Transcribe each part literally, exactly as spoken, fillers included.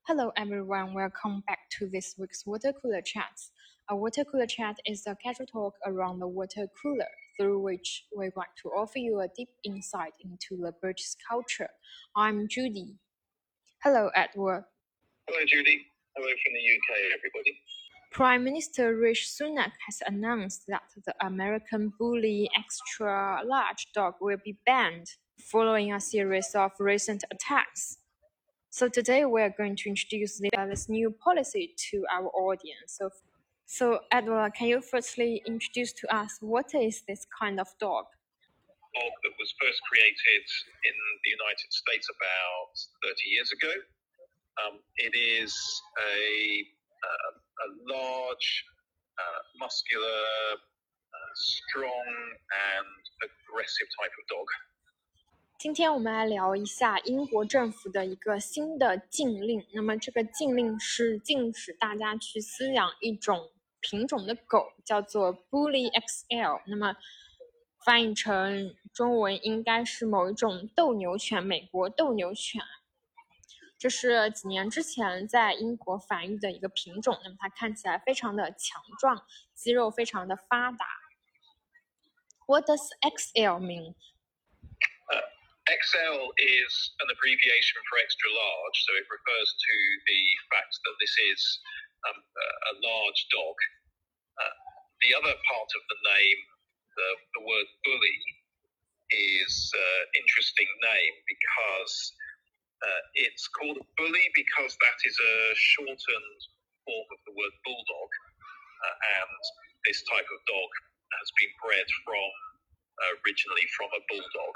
Hello everyone, welcome back to this week's Water Cooler Chats. A water cooler chat is a casual talk around the water cooler, through which we want to offer you a deep insight into the British culture. I'm Judy. Hello, Edward. Hello, Judy. Hello from the U K, everybody. Prime Minister Rishi Sunak has announced that the American Bully extra large dog will be banned, following a series of recent attacks. So today we are going to introduce this new policy to our audience. So, so Edward, can you firstly introduce to us what is this kind of dog? Dog that was first created in the United States about thirty years ago. Um, it is a, uh, a large, uh, muscular, uh, strong and aggressive type of dog. 今天我们来聊一下英国政府的一个新的禁令。那么这个禁令是禁止大家去饲养一种品种的狗，叫做 Bully X L。那么翻译成中文应该是某一种斗牛犬，美国斗牛犬。这是几年之前在英国繁育的一个品种，那么它看起来非常的强壮，肌肉非常的发达。What does X L mean? Uh, X L is an abbreviation for extra large, so it refers to the fact that this is um, a large dog. Uh, the other part of the name, the, the word bully, is an uh, interesting name because uh, it's called a bully because that is a shortened form of the word bulldog, uh, and this type of dog has been bred from uh, originally from a bulldog.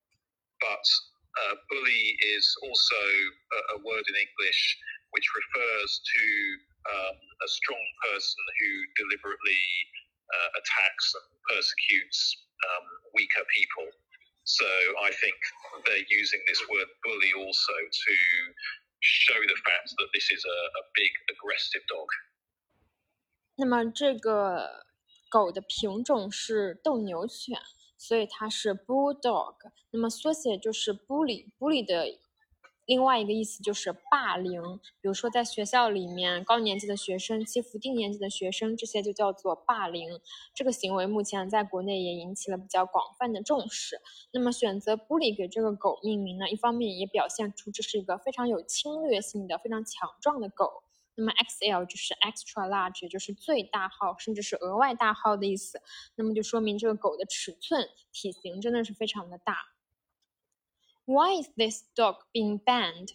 But uh, bully is also a, a word in English which refers to um, a strong person who deliberately uh, attacks and persecutes um, weaker people. So I think they're using this word bully also to show the fact that this is a, a big aggressive dog. 那么这个狗的品种是斗牛犬，所以它是 bulldog。那么缩写就是 bully。bully 的另外一个意思就是霸凌，比如说在学校里面高年级的学生欺负低年级的学生，这些就叫做霸凌。这个行为目前在国内也引起了比较广泛的重视。那么选择 bully 给这个狗命名呢，一方面也表现出这是一个非常有侵略性的、非常强壮的狗。那么 X L 就是 extra large， 也就是最大号，甚至是额外大号的意思。那么就说明这个狗的尺寸、体型真的是非常的大。Why is this dog being banned?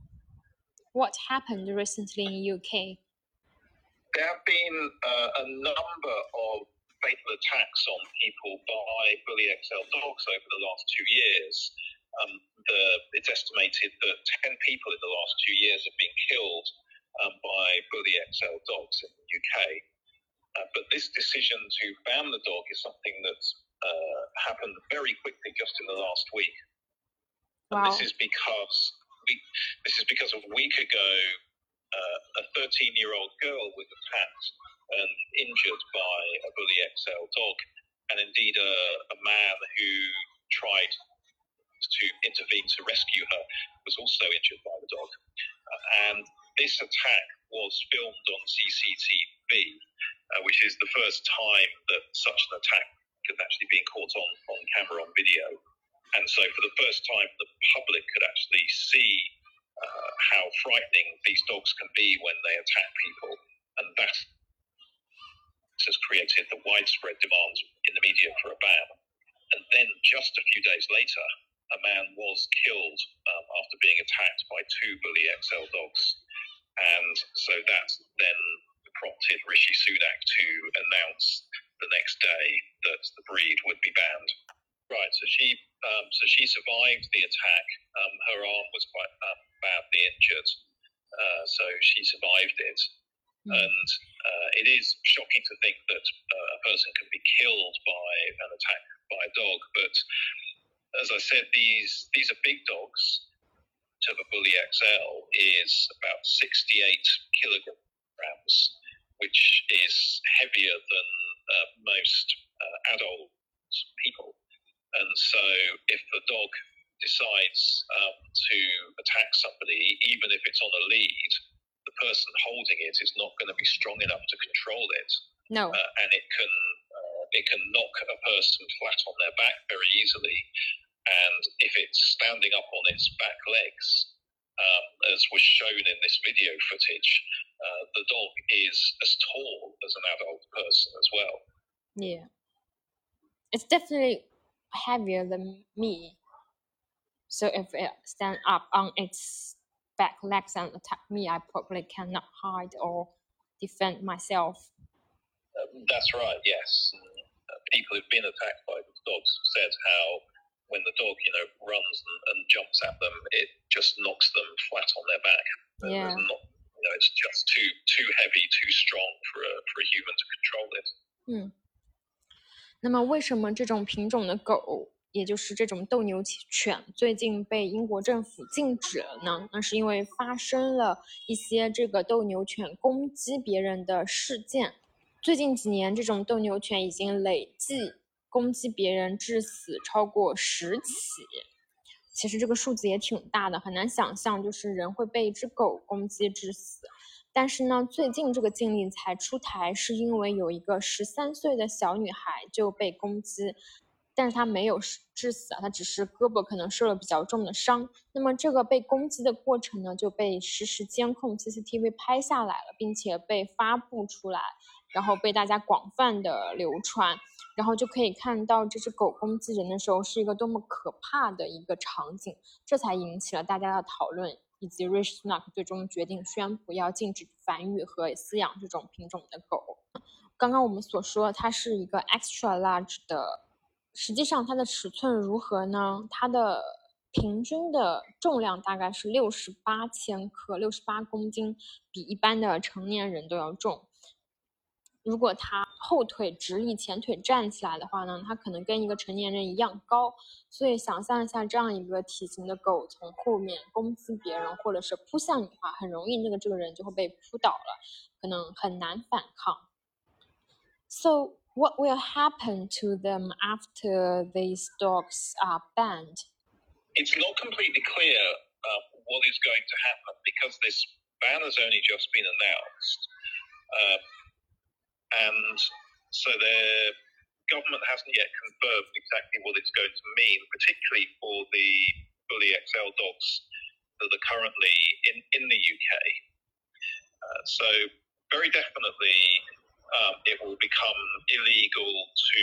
What happened recently in U K? There have been uh, a number of fatal attacks on people by Bully X L dogs over the last two years. Um, the, it's estimated that ten people in the last two years have been killed um, by Bully X L dogs in the U K. Uh, but this decision to ban the dog is something that's uh, happened very quickly, just in the last week. Wow. And this is because we, this is because a week ago, uh, a thirteen-year-old girl was attacked and injured by a Bully X L dog, and indeed a, a man who tried to intervene to rescue her was also injured by the dog. Uh, and this attack was filmed on C C T V, uh, which is the first time that such an attack has actually been caught on, on camera, on video. And so for the first time, the public could actually see uh, how frightening these dogs can be when they attack people. And that has created the widespread demand in the media for a ban. And then just a few days later, a man was killed um, after being attacked by two Bully X L dogs. And so that then prompted Rishi Sunak to announce the next day that the breed would be banned. Right, so she um, so she survived the attack. Um, her arm was quite um, badly injured, uh, so she survived it. Mm. And uh, it is shocking to think that uh, a person can be killed by an attack by a dog. But as I said, these these are big dogs. To the Bully X L is about sixty-eight kilograms, which is heavier than uh, most uh, adult people. And so if the dog decides um, to attack somebody, even if it's on a lead, the person holding it is not going to be strong enough to control it. No. Uh, and it can uh, it can knock a person flat on their back very easily. And if it's standing up on its back legs, um, as was shown in this video footage, uh, the dog is as tall as an adult person as well. Yeah. It's definitely heavier than me. So if it stands up on its back legs and attack me, I probably cannot hide or defend myself. Um, that's right, yes. Uh, people who've been attacked by these dogs have said how when the dog, you know, runs and, and jumps at them, it just knocks them flat on their back. Yeah. Not, you know, it's just too too heavy, too strong for a for a human to control it. 嗯，那么为什么这种品种的狗，也就是这种斗牛犬，最近被英国政府禁止了呢？那是因为发生了一些这个斗牛犬攻击别人的事件。最近几年，这种斗牛犬已经累计攻击别人致死超过十起。其实这个数字也挺大的，很难想象就是人会被一只狗攻击致死。但是呢，最近这个禁令才出台，是因为有一个十三岁的小女孩就被攻击，但是她没有致死啊，她只是胳膊可能受了比较重的伤。那么这个被攻击的过程呢，就被实时监控 C C T V 拍下来了，并且被发布出来，然后被大家广泛的流传。然后就可以看到这只狗攻击人的时候是一个多么可怕的一个场景，这才引起了大家的讨论，以及 Rishi Sunak 最终决定宣布要禁止繁育和饲养这种品种的狗。刚刚我们所说它是一个 extra large 的，实际上它的尺寸如何呢？它的平均的重量大概是六十八千克，六十八公斤，比一般的成年人都要重。如果它后腿直立，前腿站起来的话呢，它可能跟一个成年人一样高。所以想象一下，这样一个体型的狗从后面攻击别人，或者是扑向你的话，很容易那个这个人就会被扑倒了，可能很难反抗。So what will happen to them after these dogs are banned? It's not completely clear uh, what is going to happen because this ban has only just been announced. Uh, And so the government hasn't yet confirmed exactly what it's going to mean, particularly for the Bully X L dogs that are currently in, in the U K. Uh, so very definitely um, it will become illegal to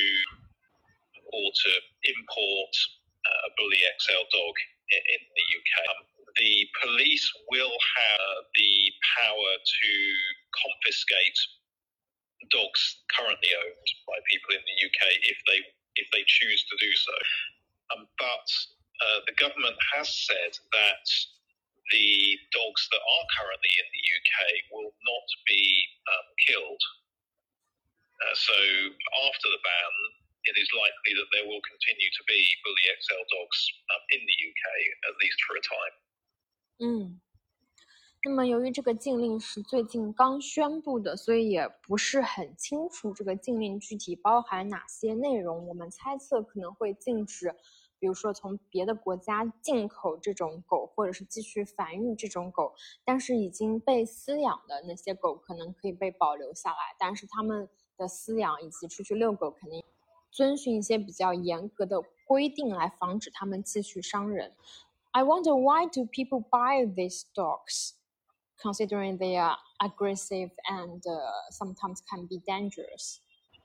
or to import uh, a Bully X L dog in, in the U K. Um, the police will have the power to confiscate dogs currently owned by people in the U K if they if they choose to do so. Um, but uh, the government has said that the dogs that are currently in the U K will not be um, killed. Uh, so after the ban, it is likely that there will continue to be Bully X L dogs um, in the U K, at least for a time. 嗯。那么由于这个禁令是最近刚宣布的，所以也不是很清楚这个禁令具体包含哪些内容。我们猜测可能会禁止，比如说从别的国家进口这种狗，或者是继续繁育这种狗，但是已经被饲养的那些狗可能可以被保留下来，但是他们的饲养以及出去遛狗肯定遵循一些比较严格的规定来防止他们继续伤人。I wonder why do people buy these dogs?Considering they are aggressive and uh, sometimes can be dangerous?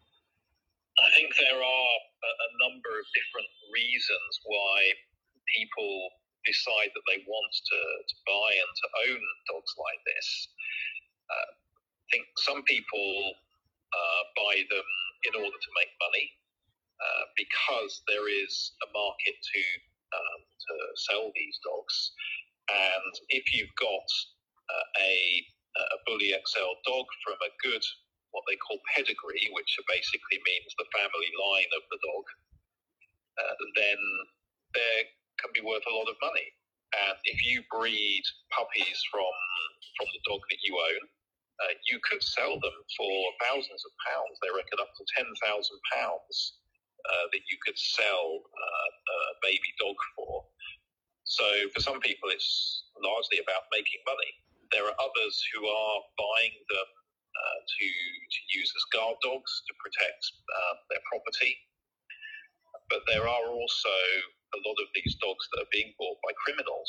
I think there are a, a number of different reasons why people decide that they want to, to buy and to own dogs like this. Uh, I think some people uh, buy them in order to make money uh, because there is a market to um, to sell these dogs. And if you've got uh, a a Bully X L dog from a good, what they call pedigree, which basically means the family line of the dog, uh, then they can be worth a lot of money. And if you breed puppies from from the dog that you own, uh, you could sell them for thousands of pounds. They reckon up to ten thousand pounds uh, that you could sell uh, a baby dog for. So for some people, it's largely about making money. There are others who are buying them uh, to, to use as guard dogs to protect uh, their property. But there are also a lot of these dogs that are being bought by criminals.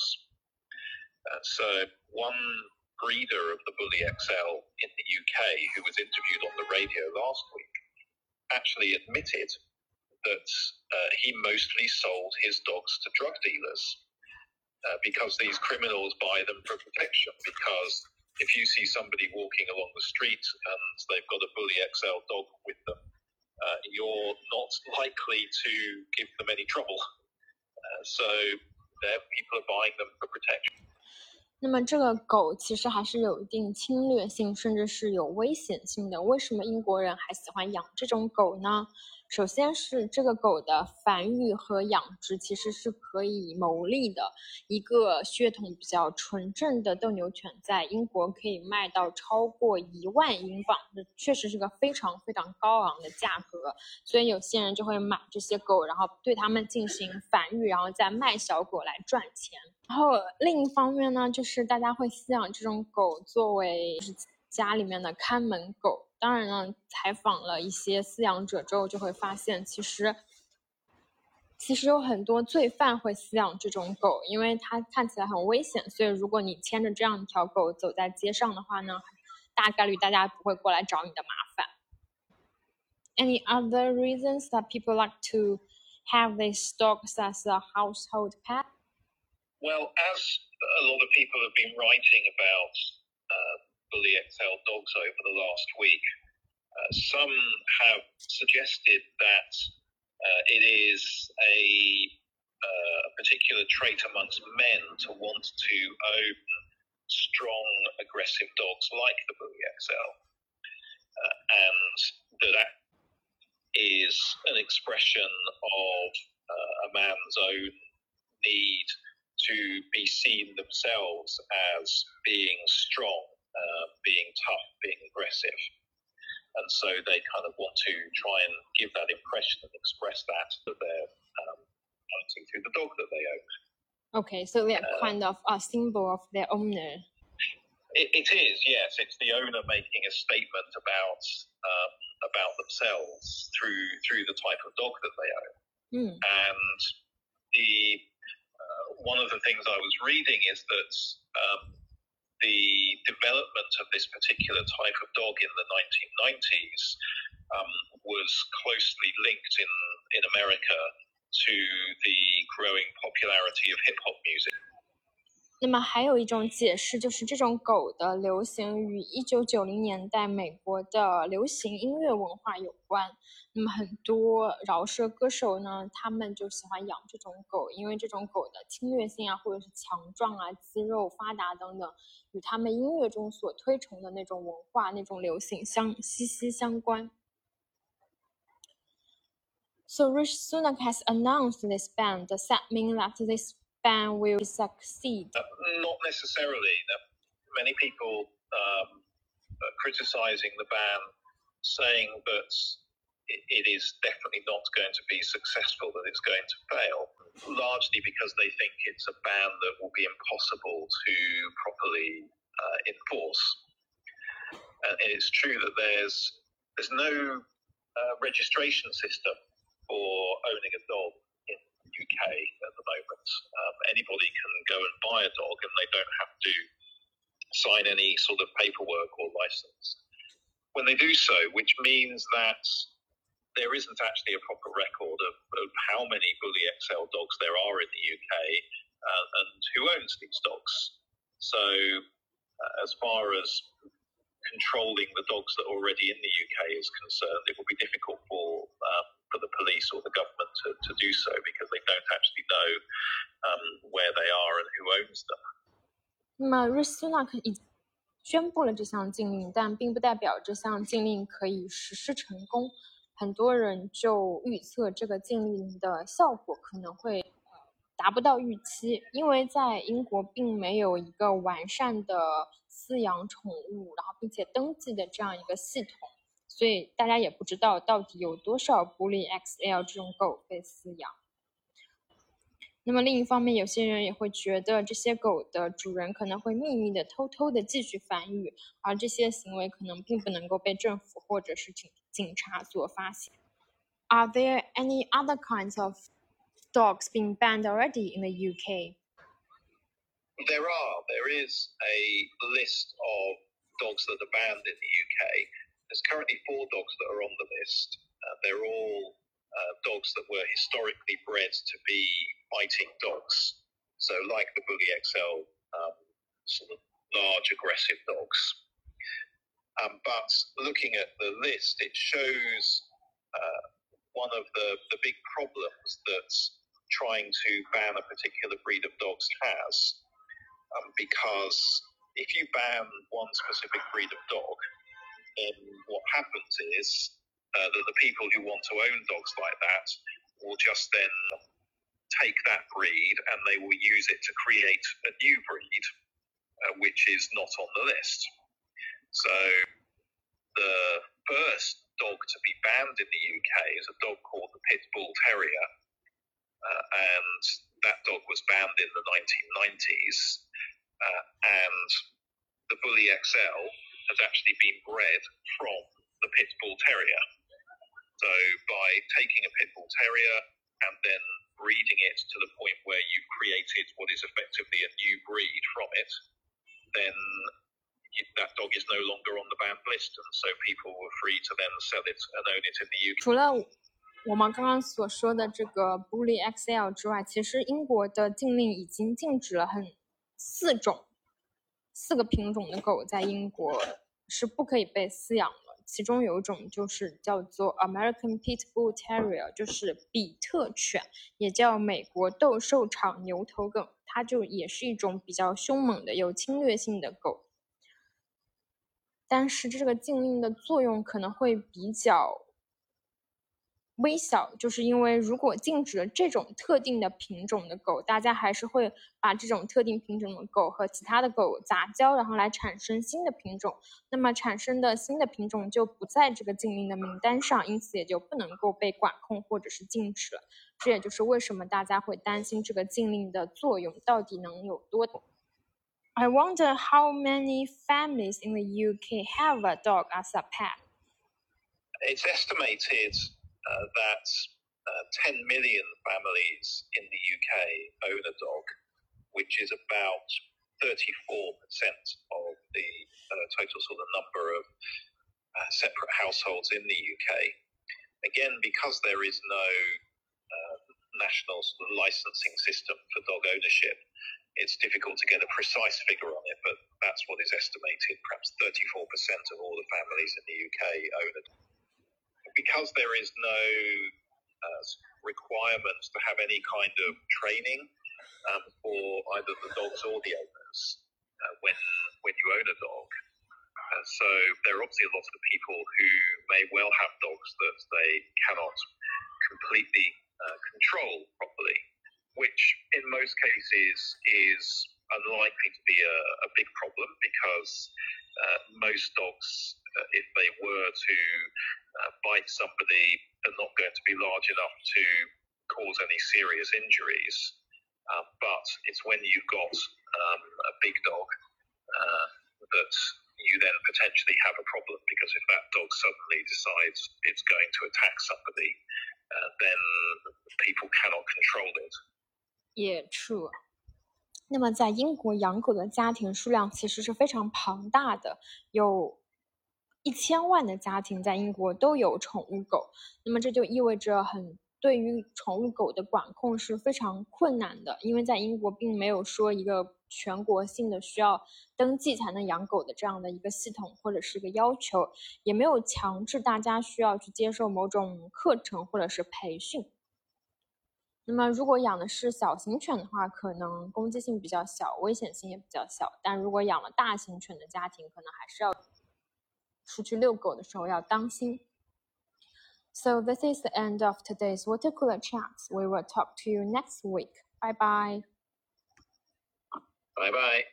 Uh, so one breeder of the Bully X L in the U K, who was interviewed on the radio last week, actually admitted that uh, he mostly sold his dogs to drug dealers uh, because these criminals buy them for protection. Because if you see somebody walking along the street and they've got a Bully X L dog with them, uh, you're not likely to give them any trouble. Uh, so people are buying them for protection. 那么这个狗其实还是有一定侵略性，甚至是有危险性的。为什么英国人还喜欢养这种狗呢？首先是这个狗的繁育和养殖其实是可以牟利的，一个血统比较纯正的斗牛犬在英国可以卖到超过一万英镑，这确实是个非常非常高昂的价格，所以有些人就会买这些狗，然后对它们进行繁育，然后再卖小狗来赚钱。然后另一方面呢，就是大家会饲养这种狗作为家里面的看门狗。当然呢，采访了一些饲养者之后，就会发现其实其实有很多罪犯会饲养这种狗，因为它看起来很危险，所以如果你牵着这样一条狗走在街上的话呢，大概率大家不会过来找你的麻烦。Any other reasons that people like to have these dogs as a household pet? Well, as a lot of people have been writing about uh, Bully X L dogs over the last week, uh, some have suggested that uh, it is a, uh, a particular trait amongst men to want to own strong, aggressive dogs like the Bully X L, uh, and that that is an expression of uh, a man's own need to be seen themselves as being strong, uh, being tough, being aggressive. And so they kind of want to try and give that impression and express that that they're um, pointing to the dog that they own. Okay, so they're uh, kind of a symbol of their owner. It, it is, yes. It's the owner making a statement about um, about themselves through through the type of dog that they own. Mm. And the uh, one of the things I was reading is that um, the development of this particular type of dog in the nineteen nineties um, was closely linked in, in America to the growing popularity of hip-hop music. 那么还有一种解释，就是这种狗的流行与一九九零年代美国的流行音乐文化有关。那么很多饶舌歌手呢，他们就喜欢养这种狗，因为这种狗的侵略性啊，或者是强壮啊、肌肉发达等等，与他们音乐中所推崇的那种文化、那种流行相息息相关。So Rishi Sunak has announced this ban. Does that mean that this ban will succeed? Uh, not necessarily. Many people um, are criticizing the ban, saying that it, it is definitely not going to be successful, that it's going to fail, largely because they think it's a ban that will be impossible to properly uh, enforce. And it's true that there's there's no uh, registration system for owning a dog in the U K at the moment. Um, anybody can go and buy a dog and they don't have to sign any sort of paperwork or license when they do so, which means that there isn't actually a proper record of, of how many Bully X L dogs there are in the U K uh, and who owns these dogs. So uh, as far as controlling the dogs that are already in the U K is concerned, it will be difficult for um, for the police or the government to, to do so because they don't actually know um, where they are and who owns them. 那么瑞斯纳克已宣布了这项禁令，但并不代表这项禁令可以实施成功。很多人就预测这个禁令的效果可能会达不到预期，因为在英国并没有一个完善的饲养宠物，然后并且登记的这样一个系统，所以大家也不知道到底有多少Bully X L 这种狗被饲养。 那么另一方面，有些人也会觉得这些狗的主人可能会秘密的、偷偷的继续繁育，而这些行为可能并不能够被政府或者是警警察所发现。Are there any other kinds of dogs being banned already in the U K? There are. There is a list of dogs that are banned in the U K. There's currently four dogs that are on the list. Uh, they're all uh, dogs that were historically bred to be fighting dogs. So like the Bully X L, um, sort of large aggressive dogs. Um, but looking at the list, it shows uh, one of the, the big problems that trying to ban a particular breed of dogs has. Um, because if you ban one specific breed of dog, then what happens is uh, that the people who want to own dogs like that will just then take that breed and they will use it to create a new breed, uh, which is not on the list. So the first dog to be banned in the U K is a dog called the Pit Bull Terrier, uh, and that dog was banned in the nineteen nineties. Uh, and the Bully X L has actually been bred from the Pit Bull Terrier. So by taking a Pit Bull Terrier and then breeding it to the point where you've created what is effectively a new breed from it, then that dog is no longer on the banned list, and so people were free to then sell it and own it in the U K. 除了我们刚刚所说的这个 Bully X L 之外，其实英国的禁令已经禁止了很四种四个品种的狗在英国是不可以被饲养的，其中有一种就是叫做 American Pit Bull Terrier， 就是比特犬，也叫美国斗兽场牛头梗，它就也是一种比较凶猛的有侵略性的狗。但是这个禁令的作用可能会比较微小，就是因为如果禁止了这种特定的品种的狗，大家还是会把这种特定品种的狗和其他的狗杂交，然后来产生新的品种，那么产生的新的品种就不在这个禁令的名单上，因此也就不能够被管控或者是禁止了。这也就是为什么大家会担心这个禁令的作用到底能有多大。I wonder how many families in the U K have a dog as a pet. It's estimated uh, that uh, ten million families in the U K own a dog, which is about thirty-four percent of the uh, total sort of number of uh, separate households in the U K. Again, because there is no uh, national sort of licensing system for dog ownership, it's difficult to get a precise figure on it, but that's what is estimated. Perhaps thirty-four percent of all the families in the U K own it. Because there is no uh, requirement to have any kind of training um, for either the dogs or the owners uh, when when you own a dog. Uh, so there are obviously a lot of people who may well have dogs that they cannot completely uh, control properly, which in most cases is unlikely to be a, a big problem because uh, most dogs, uh, if they were to uh, bite somebody, are not going to be large enough to cause any serious injuries. Uh, but it's when you've got um, a big dog uh, that you then potentially have a problem, because if that dog suddenly decides it's going to attack somebody, uh, then people cannot control it. Yeah, true. 那么在英国养狗的家庭数量其实是非常庞大的，有一千万的家庭在英国都有宠物狗，那么这就意味着很对于宠物狗的管控是非常困难的，因为在英国并没有说一个全国性的需要登记才能养狗的这样的一个系统或者是一个要求，也没有强制大家需要去接受某种课程或者是培训。那么如果养的是小型犬的话，可能攻击性比较小，危险性也比较小，但如果养了大型犬的家庭，可能还是要出去遛狗的时候要当心。So this is the end of today's Water Cooler Chats. We will talk to you next week. Bye bye. Bye bye.